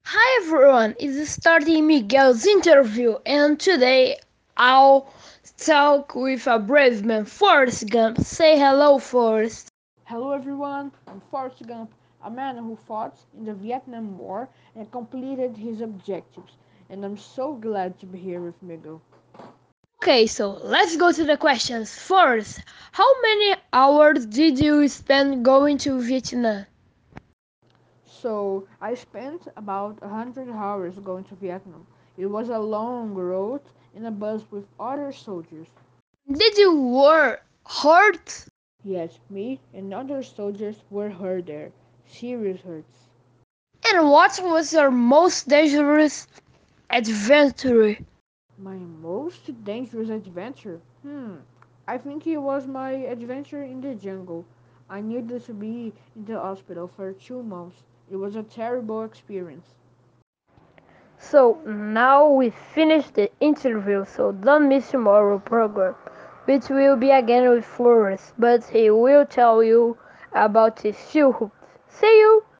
Hi everyone, it's starting Miguel's interview, and today I'll talk with a brave man, Forrest Gump. Say hello, Forrest. Hello everyone, I'm Forrest Gump, a man who fought in the Vietnam War and completed his objectives, and I'm so glad to be here with Miguel. Okay, so let's go to the questions. Forrest, how many hours did you spend going to Vietnam? So I spent about 100 hours going to Vietnam. It was a long road in a bus with other soldiers. Did you were hurt? Yes, me and other soldiers were hurt there. Serious hurts. And what was your most dangerous adventure? My most dangerous adventure? I think it was my adventure in the jungle. I needed to be in the hospital for 2 months. It was a terrible experience. So now we finished the interview, so don't miss tomorrow program, which will be again with Flores, but he will tell you about his field. See you!